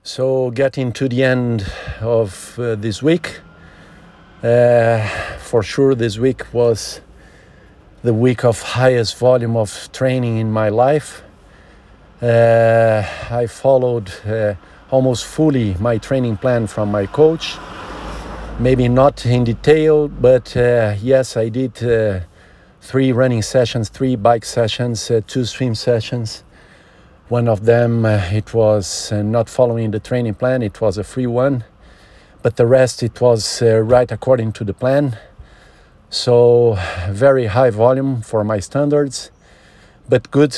So getting to the end of this week, for sure this week was the week of highest volume of training in my life. I followed almost fully my training plan from my coach. Maybe not in detail, but yes, I did 3 running sessions, 3 bike sessions, 2 swim sessions. One of them, it was not following the training plan, it was a free one. But the rest, it was right according to the plan. So very high volume for my standards, but good.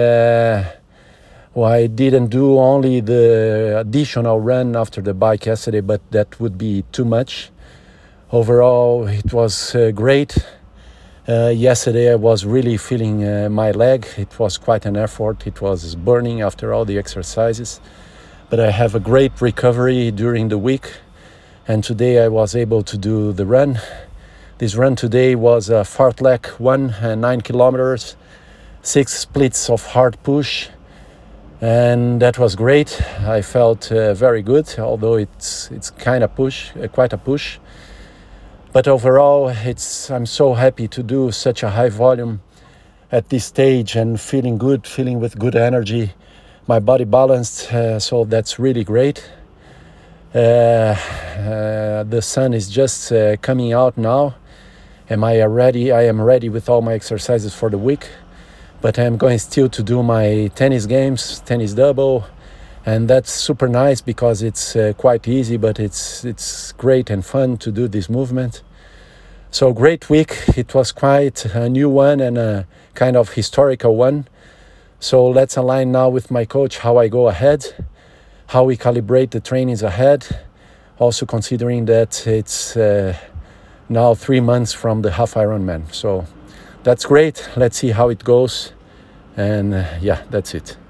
I didn't do only the additional run after the bike yesterday, but that would be too much. Overall, it was great. Yesterday I was really feeling my leg. It was quite an effort. It was burning after all the exercises. But I have a great recovery during the week. And today I was able to do the run. This run today was a fartlek one, 9 kilometers, 6 splits of hard push. And that was great. I felt very good, although it's quite a push. But overall, I'm so happy to do such a high volume at this stage and feeling good, feeling with good energy, my body balanced, so that's really great. The sun is just coming out now. I am ready with all my exercises for the week, but I'm going still to do my tennis games, tennis double, and that's super nice because it's quite easy, but it's great and fun to do this movement. So great week. It was quite a new one and a kind of historical one. So let's align now with my coach how I go ahead, how we calibrate the trainings ahead, also considering that it's now 3 months from the half Ironman. So that's great. Let's see how it goes. And that's it.